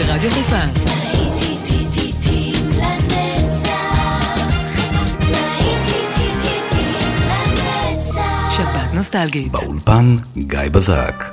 ברדיו חיפה. שבת נוסטלגית. באולפן גיא בזק.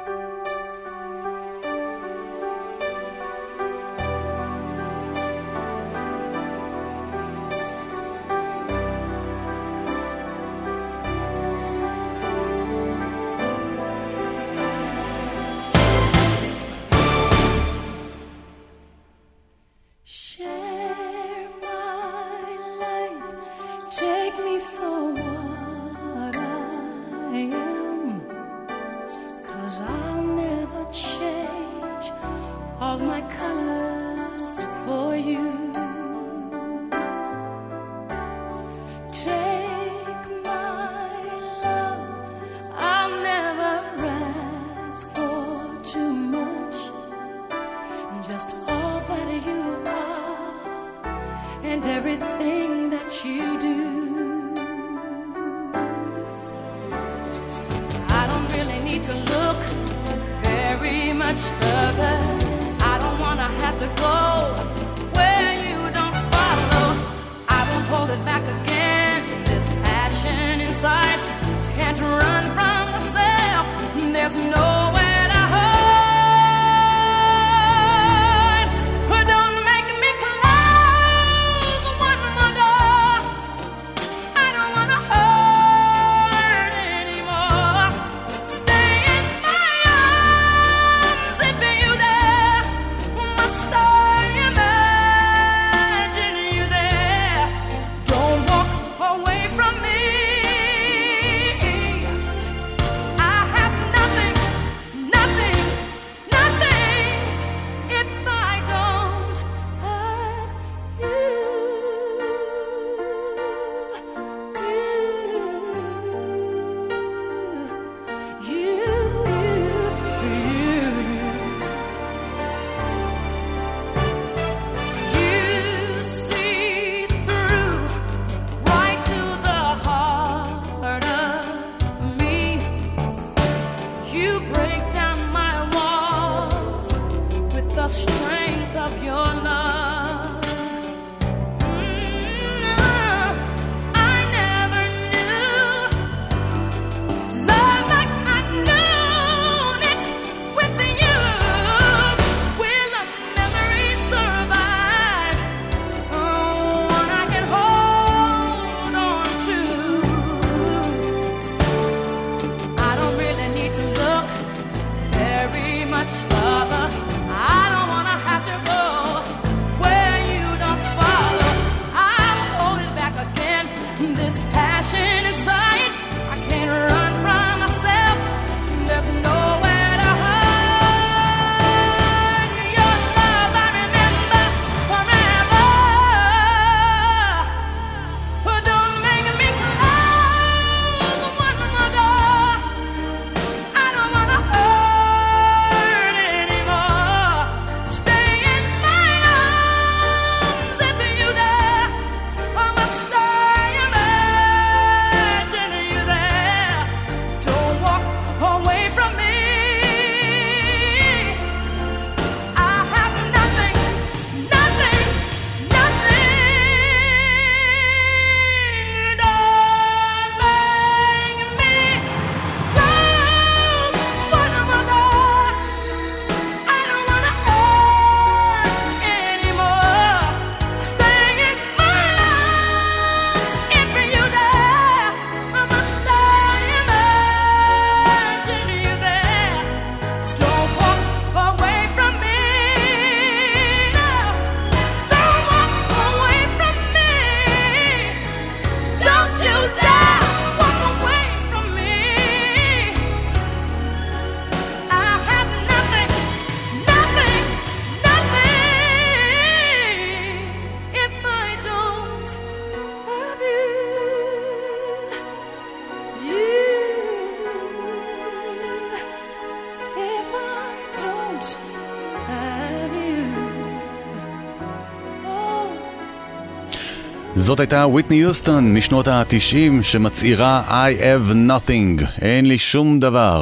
זאת הייתה וויטני יוסטון משנות ה-90 שמצעירה I have nothing, אין לי שום דבר.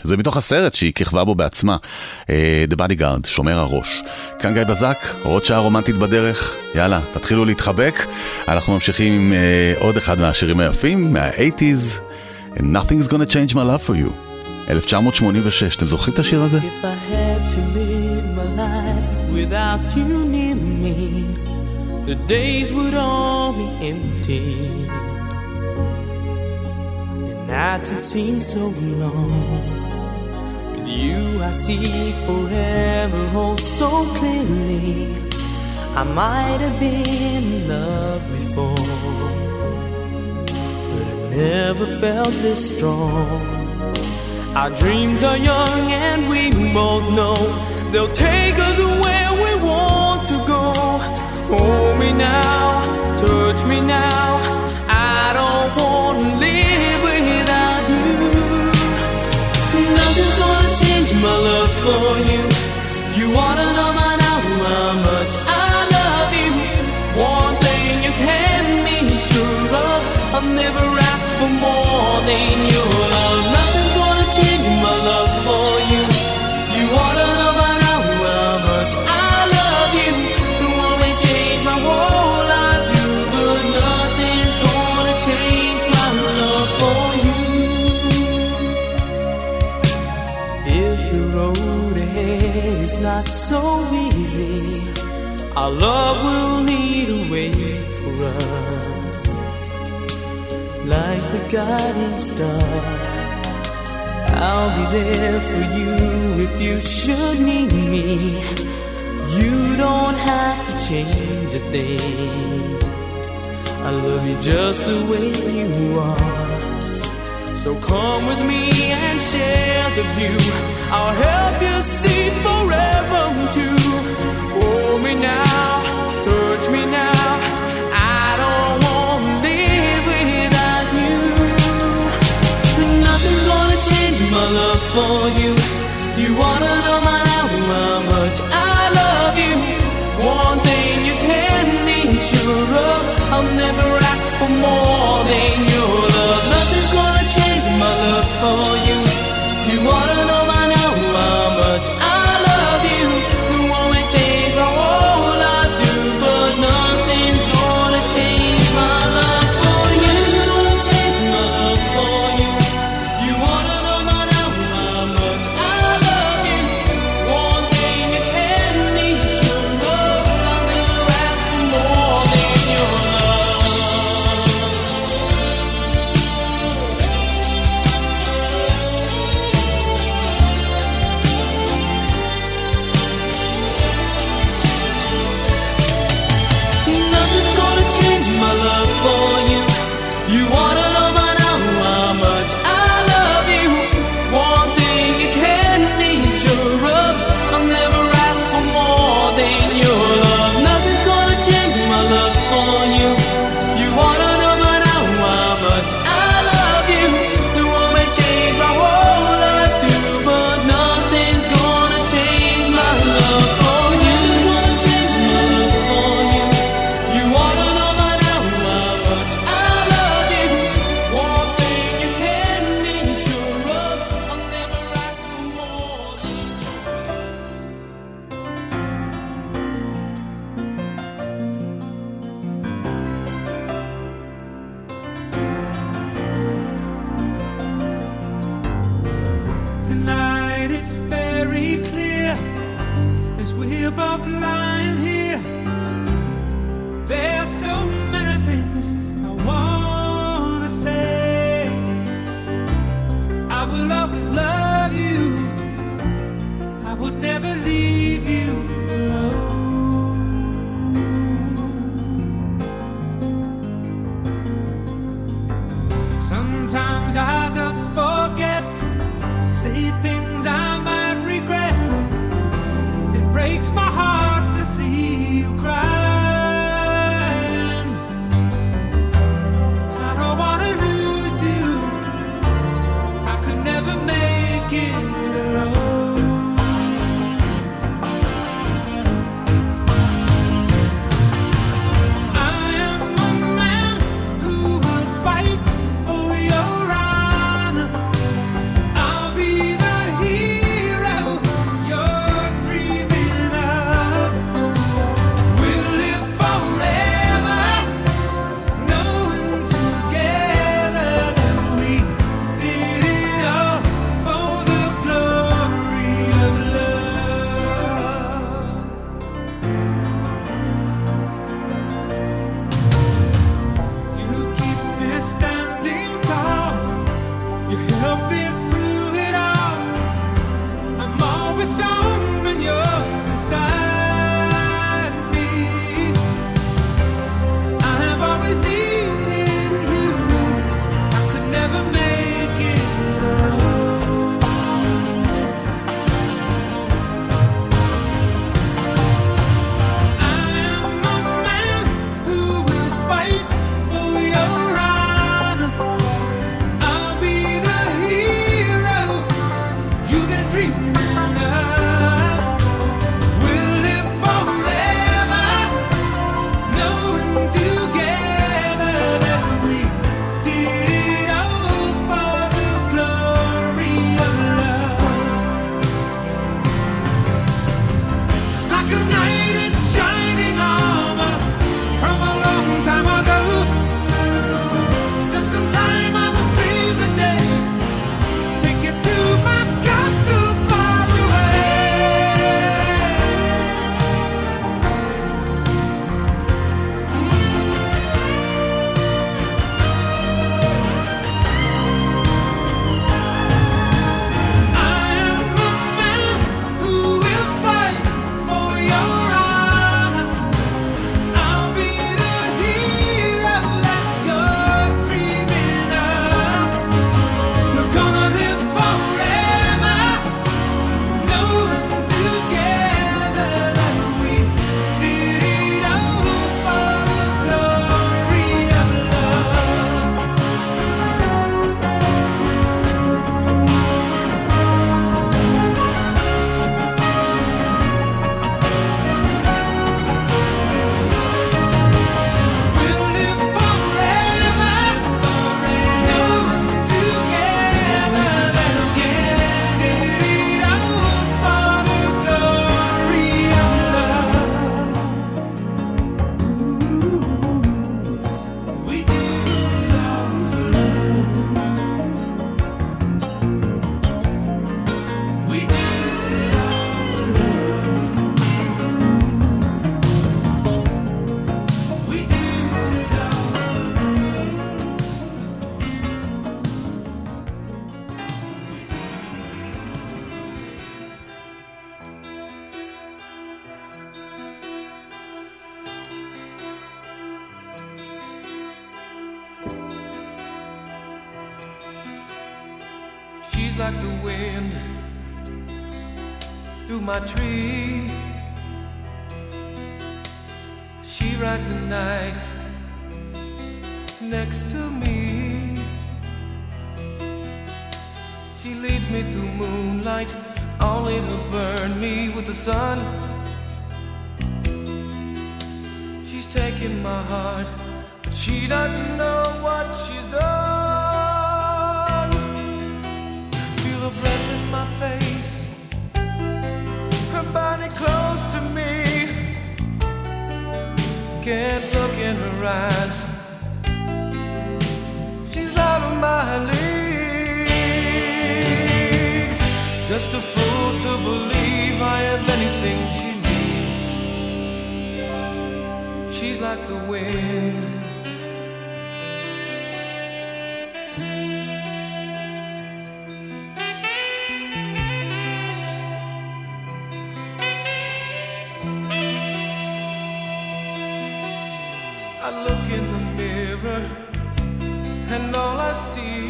זה מתוך הסרט שהיא כיכבה בו בעצמה, The Bodyguard, שומר הראש. כאן גיא בזק, עוד שעה רומנטית בדרך, יאללה, תתחילו להתחבק. אנחנו ממשיכים עם עוד אחד מהשירים היפים, מה-80s, And Nothing's Gonna Change My Love For You, 1986. אתם זוכרים את השיר הזה? If I had to live my life without you near me, the days would all be empty, the nights would seem so long. With you I see forever oh so clearly. I might have been in love before, but I never felt this strong. Our dreams are young and we both know they'll take us where we want to go. Hold me now, touch me now, I don't want to live without you. Nothing's gonna change my love for you. You wanna know by now how much I love you. One thing you can be sure of, I'll never ask for more than your love. Nothing's gonna change my love for you. You wanna know by now how much I love you. It won't change my whole life, you, but nothing's gonna change my love for you. If the road ahead is not so easy, our love will lead a way for us, like the guiding star. I'll be there for you if you should need me. You don't have to change a thing. I love you just the way you are. So come with me and share the view. I'll help you see forever too. Hold me now, touch me now, I don't want to live without you. Nothing's gonna change my love for you. You wanna know by now how much I love you. One thing you can be sure of, I'll never ask for more than your love. Nothing's gonna change my love for you. You wanna know by now how much I love you. You won't change my whole life through, but nothing's gonna change my love for you. Nothing's gonna change my love for you. You wanna know by now how much I love you. One thing you can be sure of, I'll never ask for more than your love. Nothing's gonna change my love for you. You wanna know by now how much I love you. One thing you can be sure of, I'll never ask for more than your love. Nothing's gonna change my love for you. You wanna know by now how much I love you. The world may change my whole life through, but nothing's gonna change my love for you. Nothing's gonna change my love for you. You wanna know by now how much I love you. One thing you can be sure of, I'll never ask for more than Tonight it's very clear as we're both lying here. There's so many things I wanna say. I will always love you. I would never leave you alone. Sometimes I just forget, say things I might regret. It breaks my heart to see you crying. I don't wanna lose you. I could never make it alone. I am a man who will fight for your honor. I'll be the She's like the wind through my tree. She rides the night next to me. She leads me through moonlight, only to burn me with the sun. She's taking my heart, but she doesn't know what she's done. Feel her breath in my face, her body close to me. Can't look in her eyes, she's out of my league. Just a fool to believe I have anything she needs. She's like the wind. I look in the mirror and all I see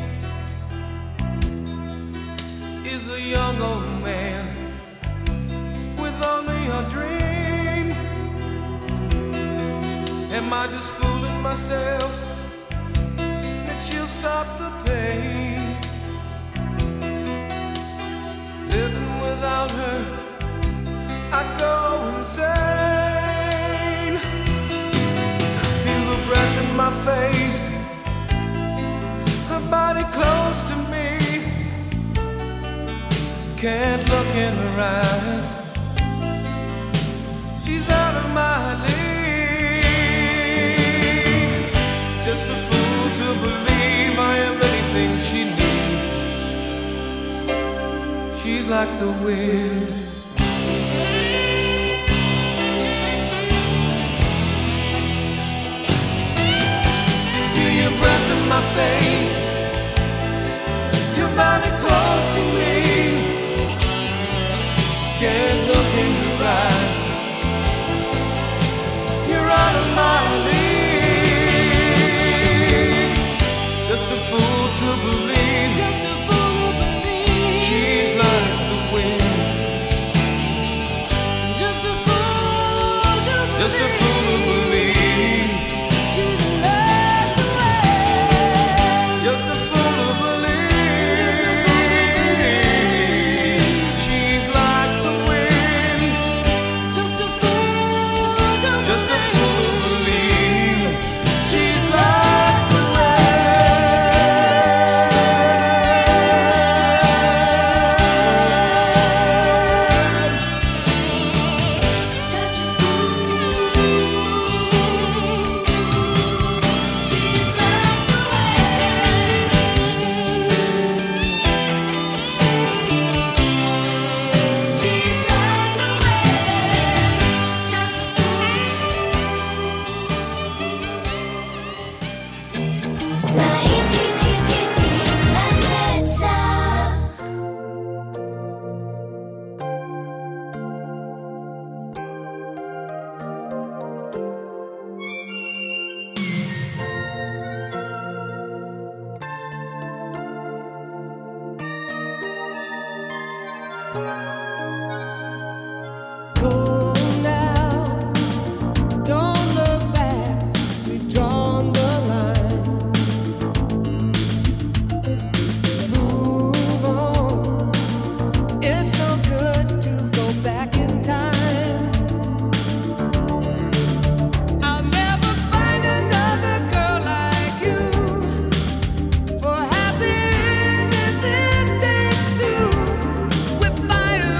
is a young old man with only a dream. Am I just fooling myself that she'll stop the pain? Living without her, I go insane. Feel the breath in my face, her body close to me. Can't look in her eyes, she's out of my league. Just a fool to believe I am anything she needs. She's like the wind. Feel your breath in my face, your body close to me. Can't look in your eyes, you're out of my league. Just a fool to believe, just a fool to believe. She's like the wind. Just a fool to believe, just a fool to believe. She's like the wind. Just a fool to believe. She's like the wind. Just a fool to believe. She's like the For happiness it takes two. With fire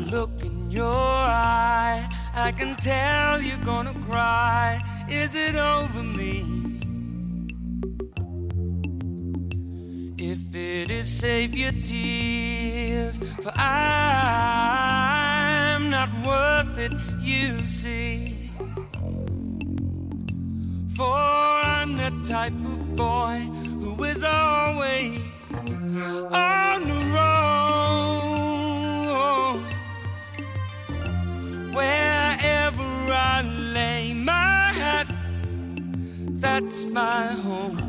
look in your eye, I can tell you're gonna cry. Is it over me? If it is, save your tears, for I'm not worth it, you see. For I'm the type of boy who is always on the road. Wherever I lay my hat, that's my home.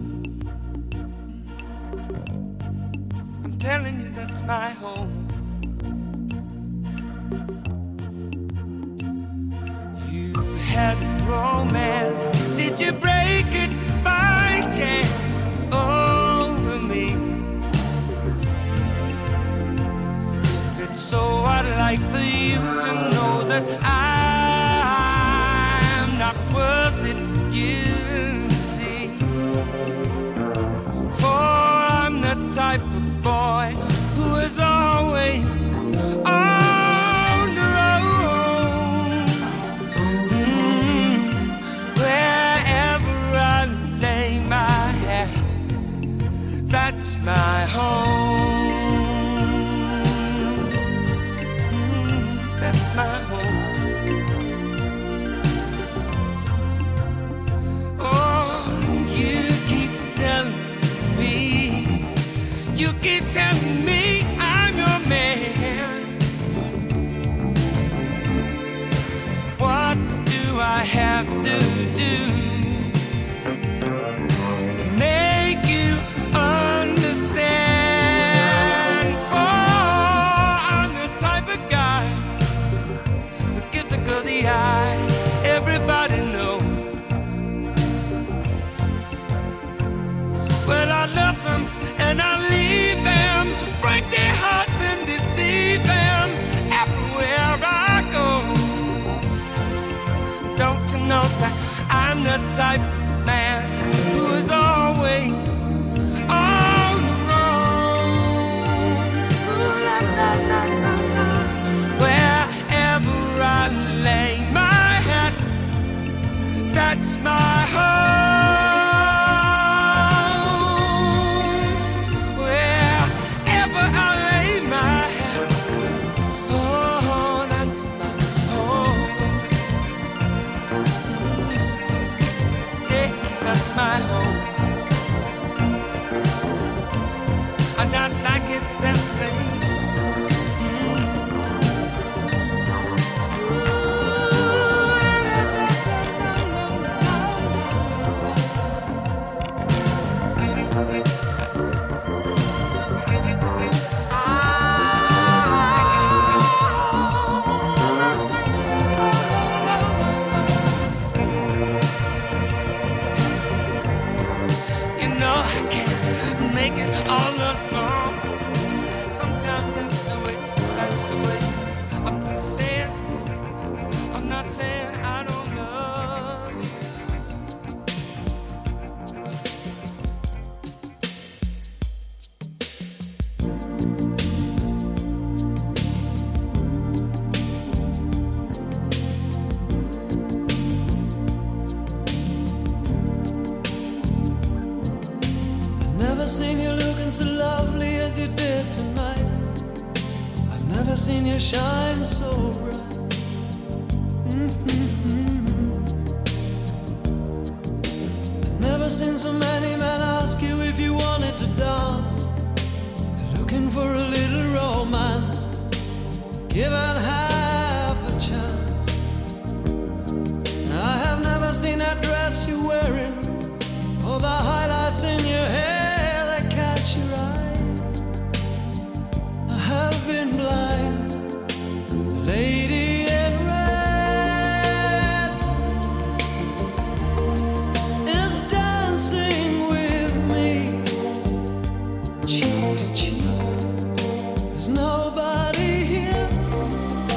I'm telling you, that's my home. You had romance, did you break it by chance over me? If it's so, I'd like for you to know that I'm not worth it, you see. For I'm the type of boy who is always on the road. Wherever I lay my head, that's my home. That's my home. Oh, you keep telling me, you keep telling me I'm your man. What do I have to do to make you understand? For I'm the type of guy who gives a girl the eye, everybody knows. Well, I love them and I leave them, break their hearts and deceive them everywhere I go. Don't you know that I'm the type of man who is always on the road? Ooh, la, la, la, la, la. Wherever I lay my hat, that's my home. My home. I'm not like it that way. All along, sometimes that's the way, that's the way. I'm not saying I don't love you. Never seen you looking so lovely as you did tonight. I've never seen you shine so bright. I've never seen so many men ask you if you wanted to dance. They're looking for a little romance, given half a chance. I have never seen that dress you're wearing, or the highlights in your hair. I have been blind. The lady in red is dancing with me, cheek to cheek. There's nobody here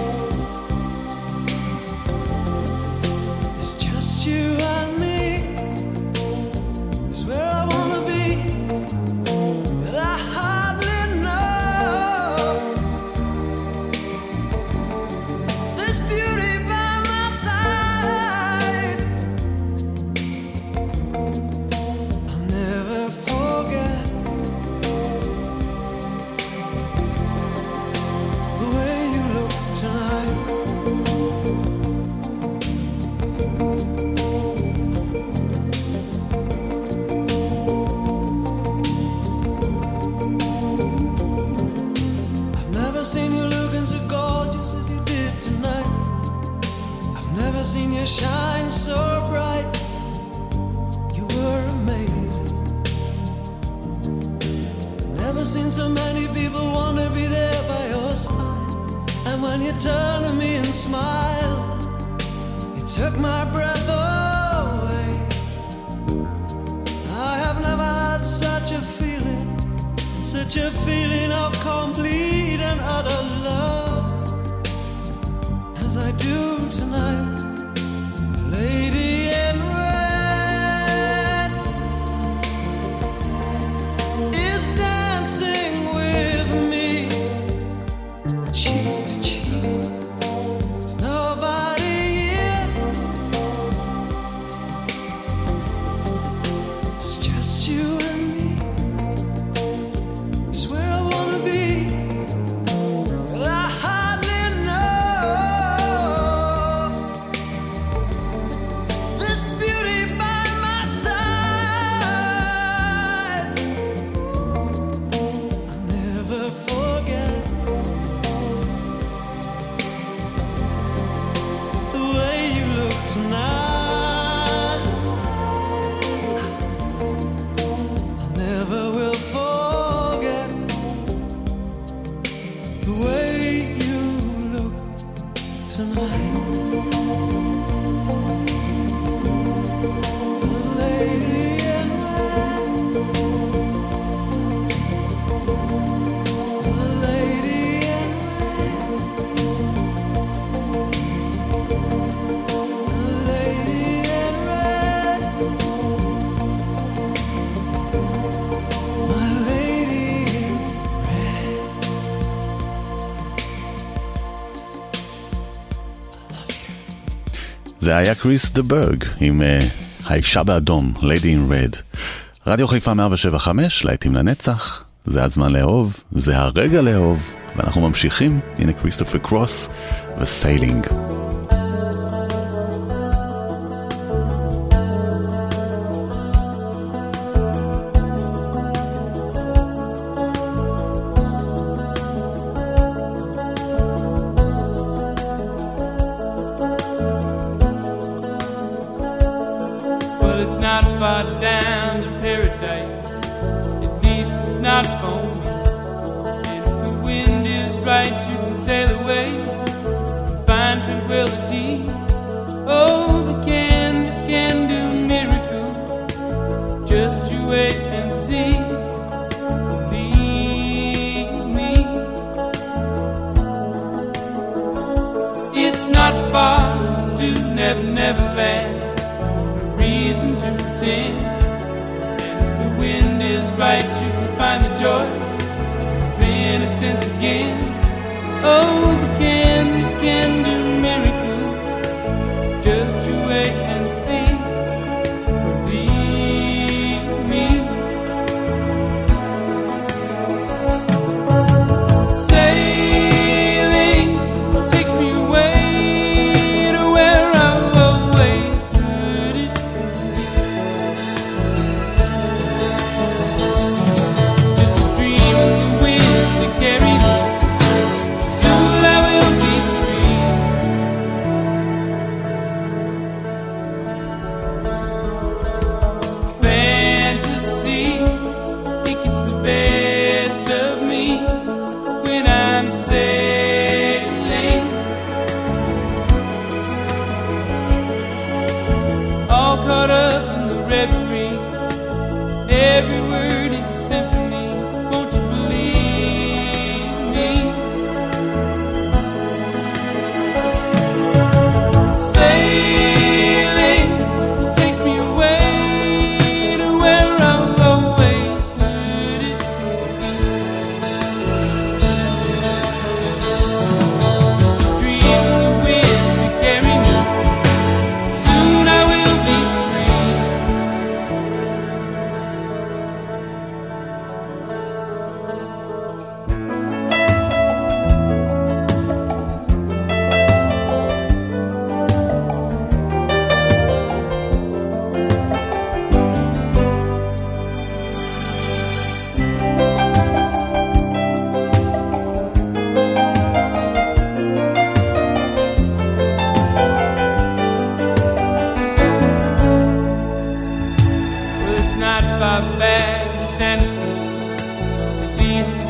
seen you looking so gorgeous as you did tonight. I've never seen you shine so bright. You were amazing. Never seen so many people want to be there by your side. And when you turn to me and smile, it took my breath away. I have never had such a feeling of complete and utter love as I do tonight. Lady in red is dancing with me, cheek to cheek. There's nobody here, it's just you and me. It's where I wanna be, but I hardly know this beauty by my side. I'll never forget the way you look tonight. I never will forget the way you look tonight. The lady in red, the lady in red, the lady in red, my lady in red. זה היה קריס דה ברג עם האישה באדום, Lady in Red. רדיו חיפה 107.5, להיטים לנצח, זה הזמן לאהוב, זה הרגע לאהוב, ואנחנו ממשיכים, הנה כריסטופר קרוס וסיילינג. Well, it's not far down to paradise. At least it's not for me. And if the wind is right, you can sail away and find tranquility. Oh, the canvas can do miracles. Just you wait and see. Believe me. It's not far to Never Never Land. Reason to pretend. And if the wind is right, you can find the joy of innocence again. Oh, the canvas can do miracles. Just you wait and see. Believe me. Sailing takes me away to where I've always heard it. Just a dream of the wind that carried me. Soon I will be free.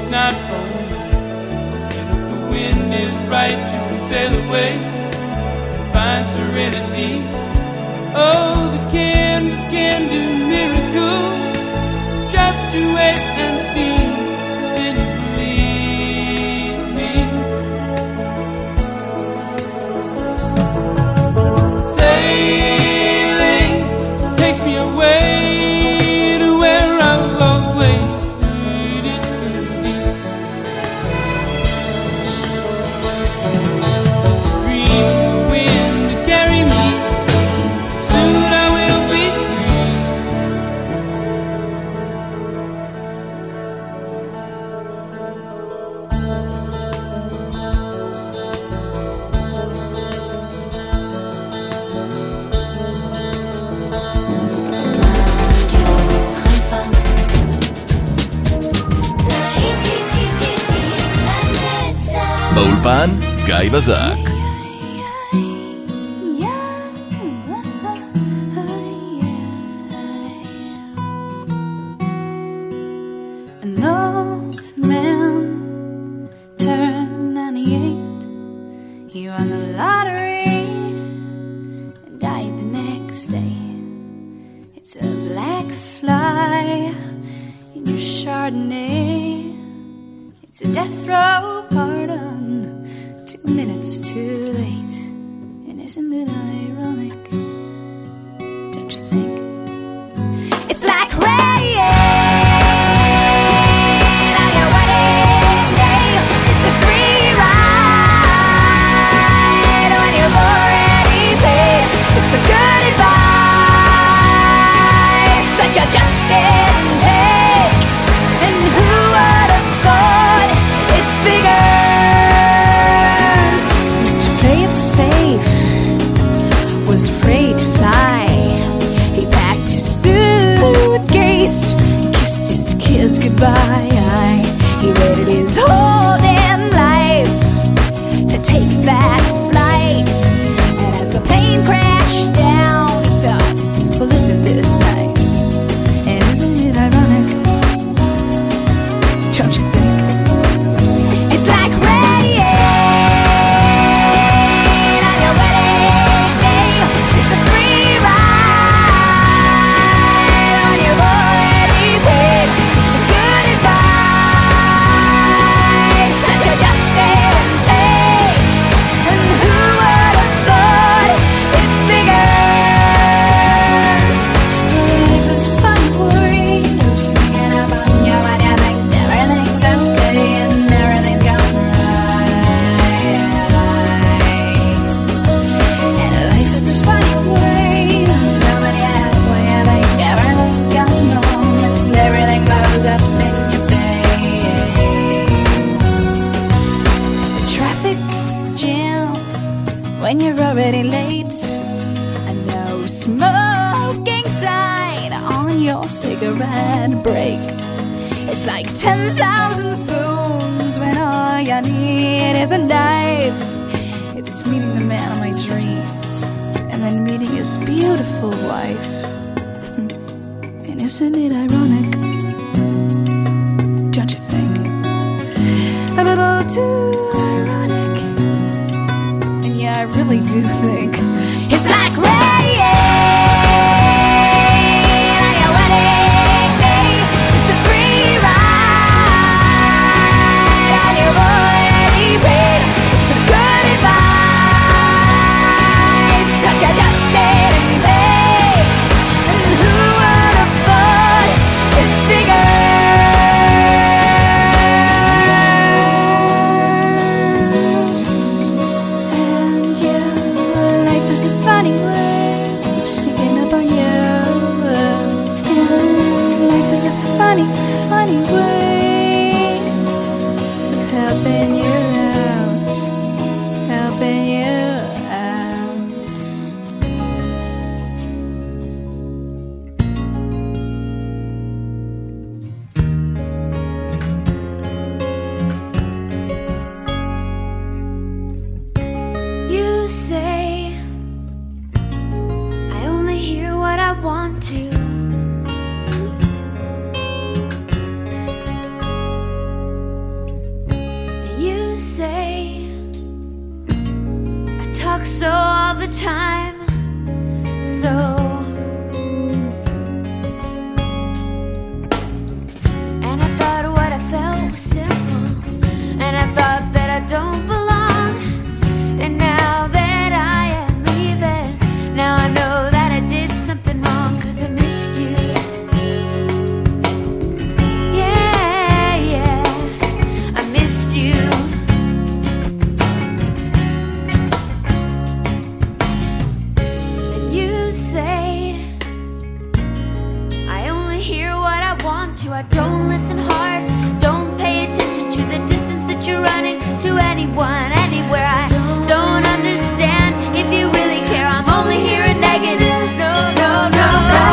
not for me. And if the wind is right, you can sail away and find serenity. Oh, the canvas can do miracles. Just you wait and see, then you believe me. Sailing takes me away to where I've always needed to be. Just a dream of the wind to carry me. Soon I will be free. באולפן גיא בזק. An old man turned 98. He won the lottery and died the next day. It's a black fly in your Chardonnay. It's a death row pardon, 2 minutes too late. And isn't it ironic? Don't you think? It's like rain on your wedding day. It's a free ride when you've already paid. It's the good advice that you just didn't take. And who would have thought it figures? Mr. Play It Safe was afraid to fly. He packed his suitcase, kissed his kids goodbye. He waited his whole damn life to take that flight. And as the plane crashed down, he thought, well, isn't this nice? And isn't it ironic? Don't you think? It's like rain on your wedding day. It's a free ride when you've already paid. It's the good advice that you just didn't take. And who would have thought it figures? Life is fun for you, swinging up on your body. I think everything's okay and everything's going right. And life is a funny way, nobody halfway. I think everything's going wrong and everything blows up in your face. The traffic jam when you're already late. A no smoking sign on your cigarette break. It's like 10,000 spoons when all you need is a knife. It's meeting the man of my dreams and then meeting his beautiful wife. And isn't it ironic? Don't you think? A little too ironic. And yeah, I really do think it's like rain on your wedding day. It's a free ride and you've already paid. It's the good advice that you just didn't take. And who would have thought it figures? And yeah, life is a funny way. say I talk so all the time, so and I thought what I felt was simple, and I thought that I don't belong, and now that I am leaving, now I know that I did something wrong, 'cause I missed you. I don't listen hard, don't pay attention to the distance that you're running to anyone, anywhere. I don't understand if you really care. I'm only hearing negative. No, no, no.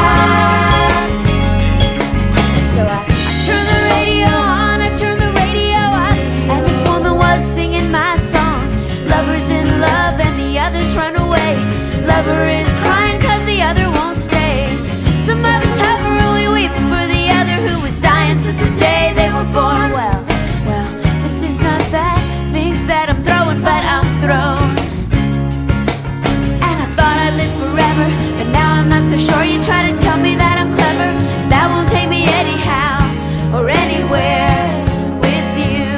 So I turn the radio on, I turn the radio up, and this woman was singing my song. Lover's in love and the others run away. Lover is crying 'cause the other won't stay. Some others hover and we weep for the other who was dying since the day they were born. Well, this is not that thing that I'm throwing, but I'm thrown. And I thought I'd live forever, but now I'm not so sure. You try to tell me that I'm clever, that won't take me anyhow or anywhere with you.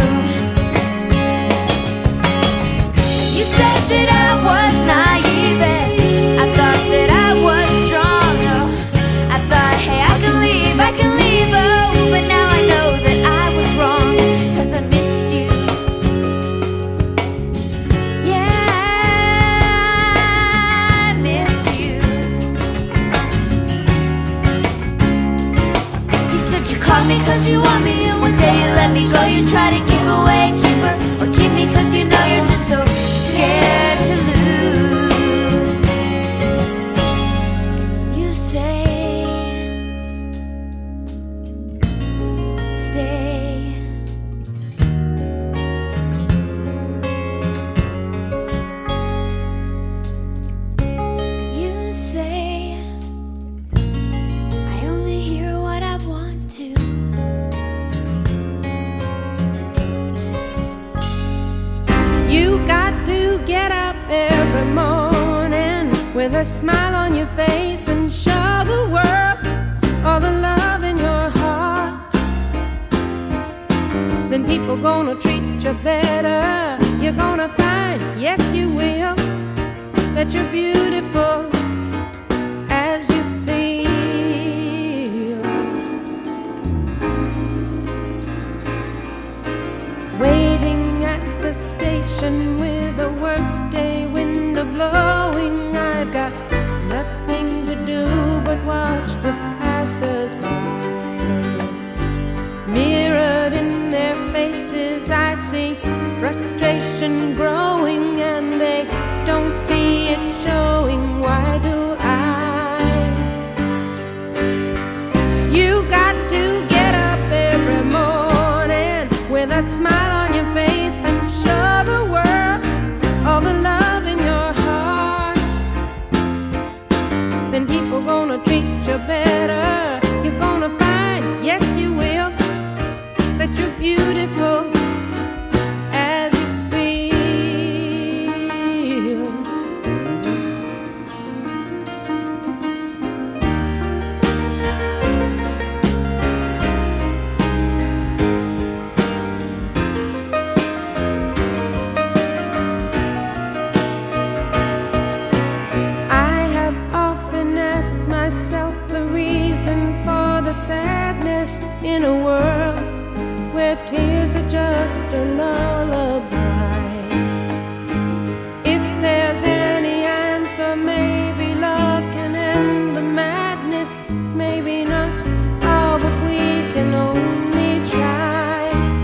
You said that I was naive, I thought that I was strong. Oh, I thought, hey, I can leave, oh, but now I know that I was wrong, 'cause I missed you. Yeah, I missed you. You said you called me 'cause you want me, and one day you let me go. You try to give away a keeper, or keep me 'cause you know you're just so scared to lose. You say stay. You say I only hear what I want to. You got to get up every morning with a smile on your face and show the world all the love in your heart. Then people gonna treat you better. You're gonna find, yes you will, that you're beautiful as you feel. Waiting at the station with a workday window blowing, I've got nothing to do but watch the passers-by. Mirrored in their faces I see frustration growing, and they don't see it showing. Why do I? You got to get up every morning with a smile on your face and show the world all the love in your heart. Then people gonna treat you better. You're gonna find, yes you will, that you're beautiful as you feel. I have often asked myself the reason for the sadness in a world where tears are just a lullaby. If there's any answer, maybe love can end the madness, maybe not. Oh, but we can only try.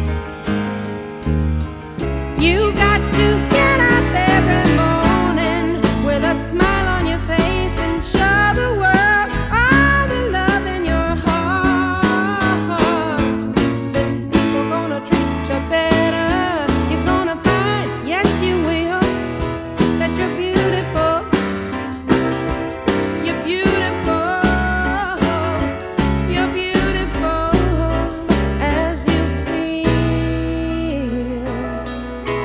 You got to get up every morning with a smile on your face and show the world all the love in your heart. Then people gonna treat you better. You're gonna find, yes you will, that you're beautiful. You're beautiful. You're beautiful as you feel.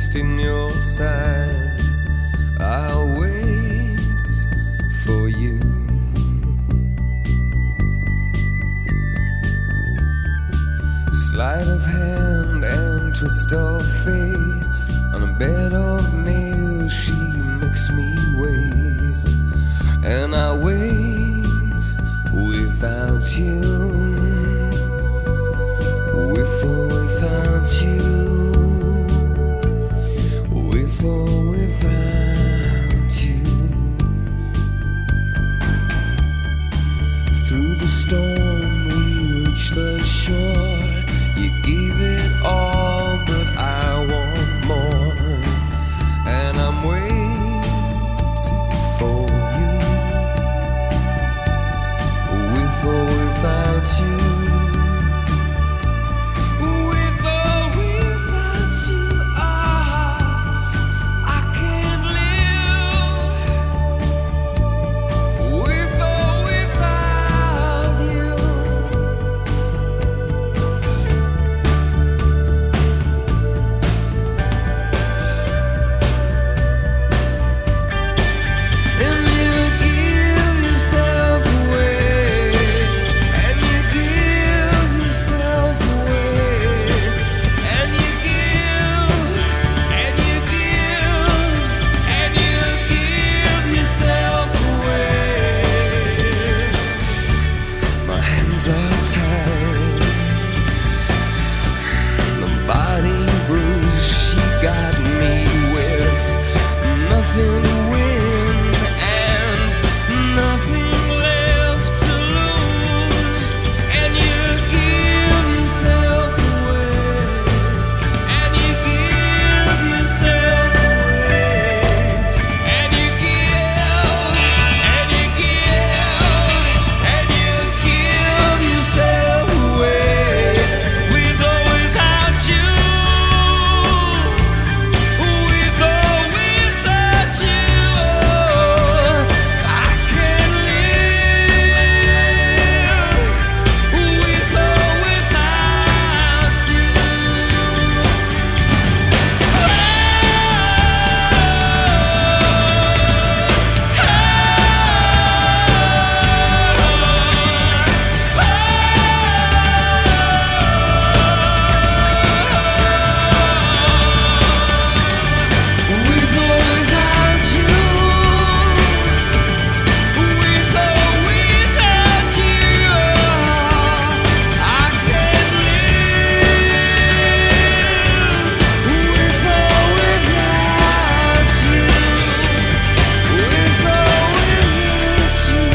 lost in your side. I'll wait for you. Sleight of hand and twist of fate. On a bed of nails she makes me wait. And I wait without you. With or without you. With or without you. Through the storm we reach the shore. You gave it all, but I want more. And I'm waiting for you. With or without you. With or without you. I can't live. With or without you. And you give yourself away, and you give yourself away, and you give, and you give, and you give yourself away. My hands are tied, the body bruised. She got me with nothing to win and nothing left to lose. And you give yourself away, and you give yourself away, and you give, and you give, and you give yourself away. With or without you. With or without you. I can't live. With or without you. With or without you. With or without you. I can't live. With or without you. With or without you.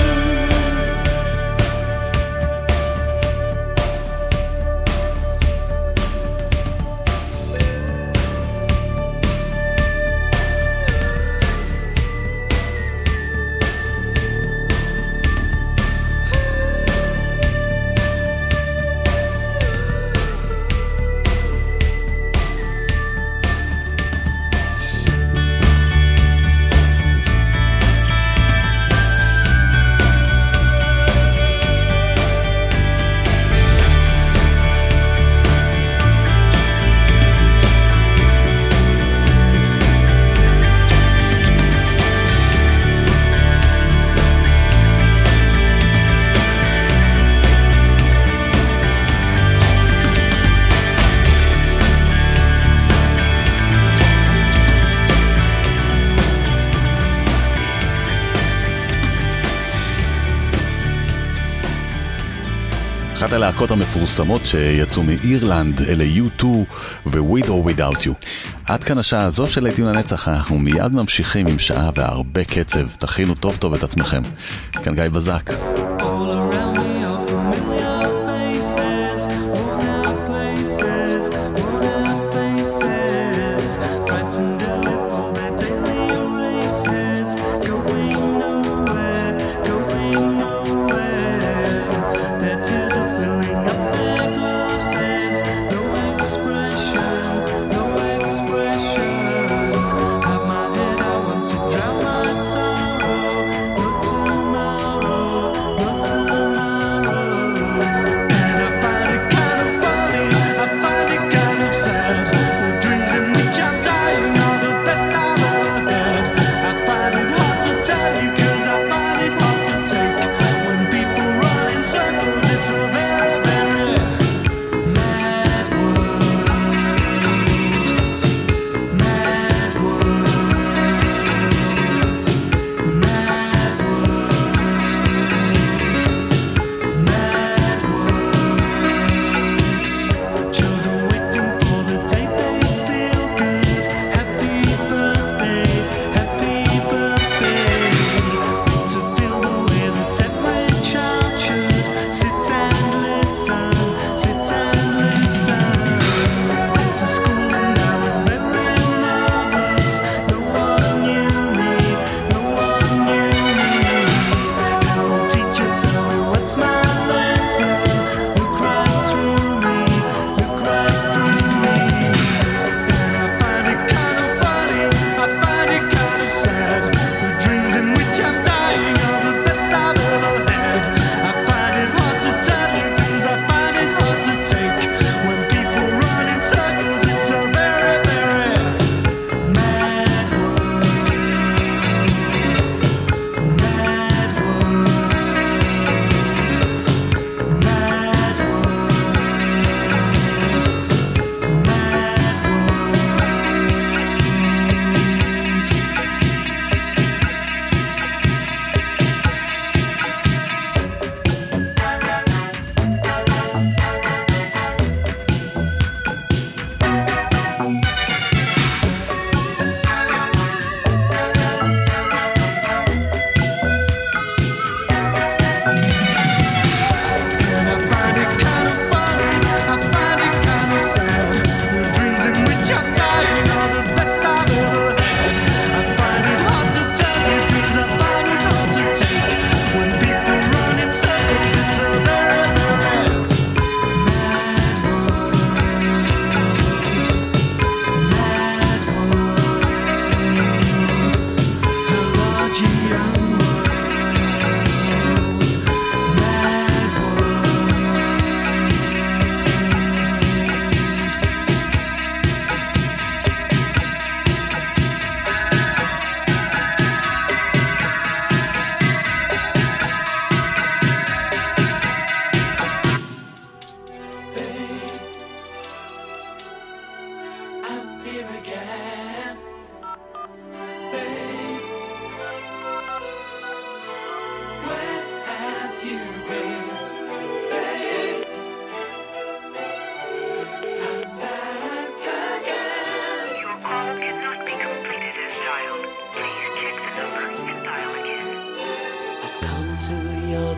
אחת הלהקות המפורסמות שיצאו מאירלנד אלה U2 ו-With or Without You. עד כאן השעה הזו של להיטים לנצח, אנחנו מיד ממשיכים עם שעה והרבה קצב. תכינו טוב טוב את עצמכם. כאן גיא בזק. All around me are familiar faces, worn out places, worn out faces, fighting daily for their daily races, going nowhere, going nowhere. Their tears are filling up their glasses, no expression, no expression. Have my head, I want to drown my sorrow, no tomorrow, no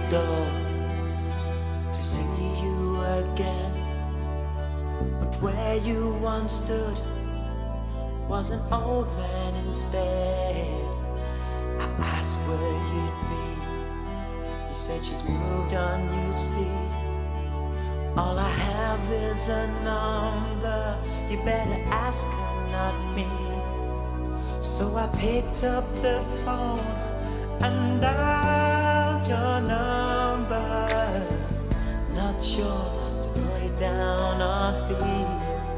door to see you again. But where you once stood was an old man instead. I asked where you'd be. You said she's moved on, you see. All I have is a number. You better ask her, not me. So I picked up the phone and dialed your number. Not sure to put it down or speak.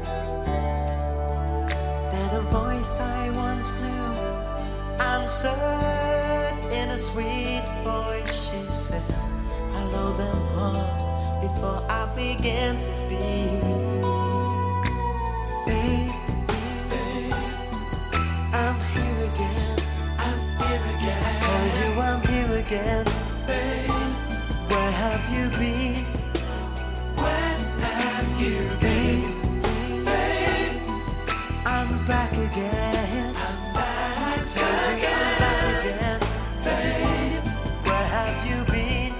Then a voice I once knew answered in a sweet voice. She said hello, then paused before I began to speak. Babe, I'm here again. I tell you I'm here again. Babe, where have you been? Where have you been? Babe, I'm back again. I tell you I'm back again. Babe, where have you been?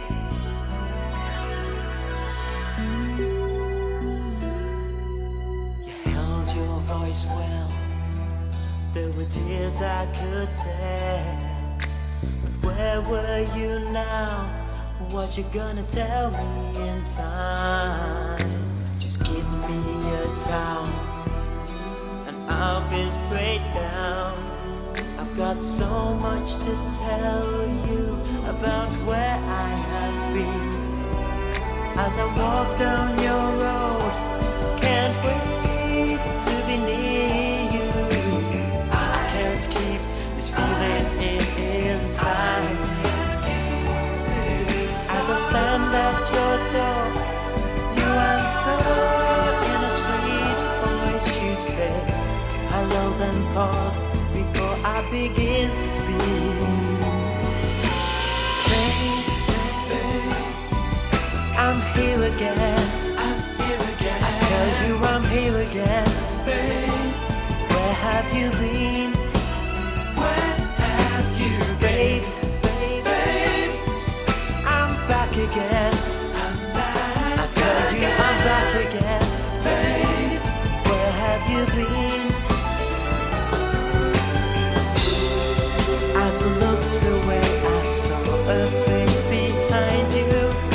You held your voice well. There were tears I could tell. But where were you now? What you gonna tell me in time? Just give me a towel and I'll be straight down. I've got so much to tell you about where I have been. As I walk down your road, can't wait to be near you. I can't keep this feeling inside. As I stand at your door, you answer in a sweet voice. You say hello, then pause before I begin to speak. Babe, I'm here again. I tell you I'm here again. Babe, where have you been? Where have you been? Babe, I'm back again. I tell you I'm back again. Babe, where have you been? As I looked away, I saw a face behind you.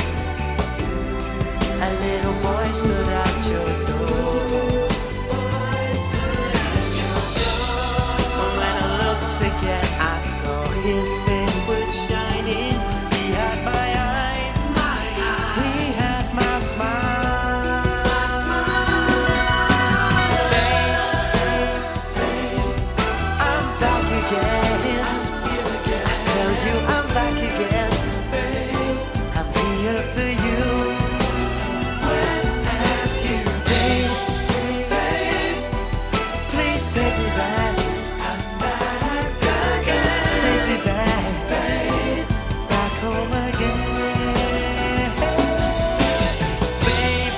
A little boy stood at your door. When I looked again, I saw his face was shining. He had my eyes, he had my smile. I'm back again. I tell you I'm back again. I'm here for you. Where have you been? Please take me back. I'm back again. Take me back, back home again. Babe,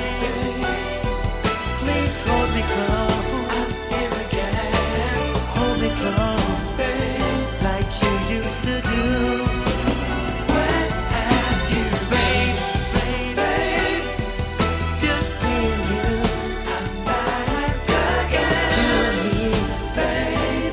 please hold me close. I'm here again. Hold me close, like you used to do. Where have you been? Babe, just me and you. I'm back again. You and me, babe.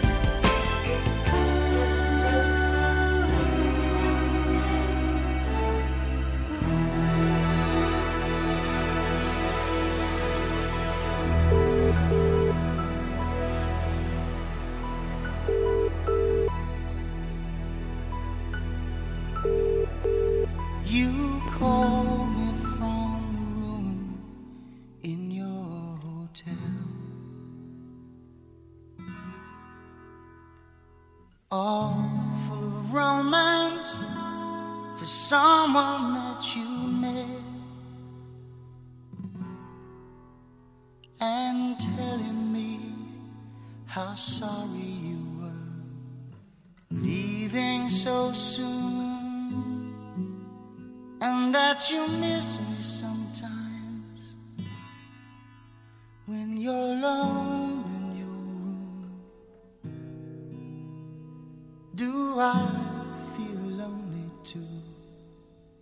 You call me from the room in your hotel, all full of romance for someone that you met, and telling me how sorry you were leaving so soon, and that you miss me sometimes when you're alone in your room. Do I feel lonely too?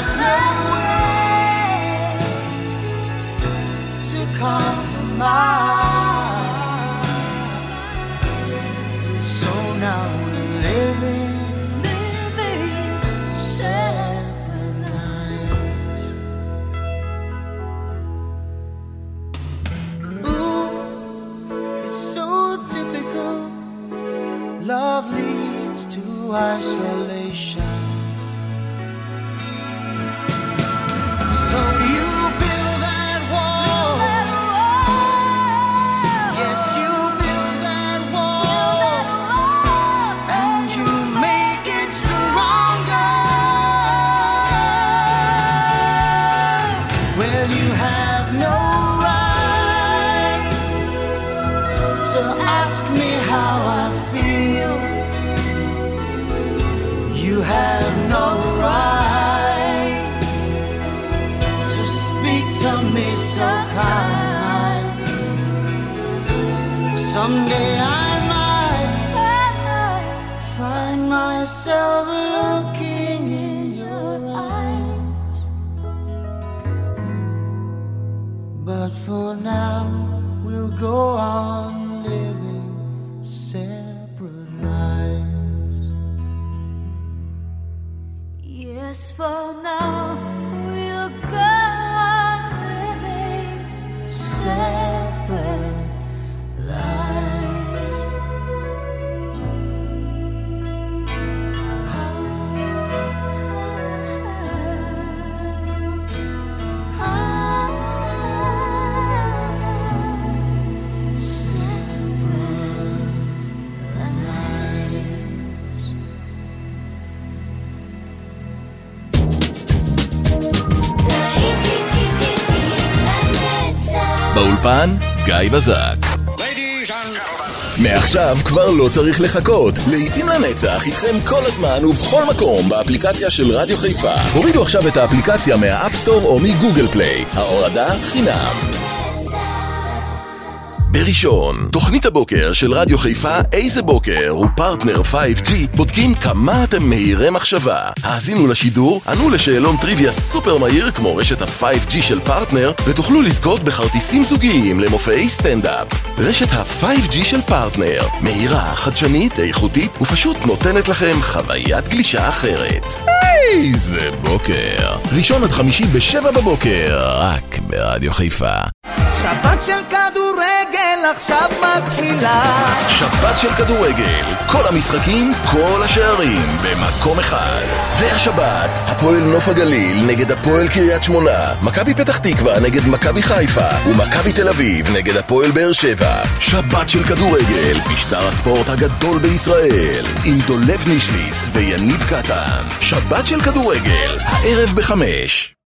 There's no way to compromise. So now we're living separate lives. Ooh, it's so typical. Love leads to isolation. So you build that wall. Yes, you build that wall. And you make it stronger. Well, you have no right to ask me how I feel. You have no right to speak to me so kind. Someday I might find myself looking in your eyes. But for now, we'll go on living separate lives. Yes, for now we'll go on living Separate lives. באולפן גיא בזק. מעכשיו כבר לא צריך לחכות. לעתים לנצח איתכם כל הזמן ובכל מקום באפליקציה של רדיו חיפה. הורידו עכשיו את האפליקציה מהאפסטור או מגוגל פליי. ההורדה חינם. בראשון, תוכנית הבוקר של רדיו חיפה איזה בוקר ופרטנר 5G בודקים כמה אתם מהירי מחשבה. האזינו לשידור, ענו לשאלון טריוויה סופר מהיר כמו רשת ה-5G של פרטנר ותוכלו לזכות בכרטיסים זוגיים למופעי סטנדאפ. רשת ה-5G של פרטנר, מהירה, חדשנית, איכותית ופשוט נותנת לכם חוויית גלישה אחרת. איזה בוקר. ראשון עד חמישי ב7 בבוקר, רק ברדיו חיפה. שבת של כדורגל עכשיו מתחילה. שבת של כדורגל, כל המשחקים, כל השערים במקום אחד. והשבת, הפועל נוף הגליל נגד הפועל קריית שמונה, מכבי פתח תקווה נגד מכבי חיפה ומכבי תל אביב נגד הפועל באר שבע. שבת של כדורגל, משטר הספורט הגדול בישראל, עם דולב נישליס ויניב קטן. שבת של כדורגל, הערב ב5.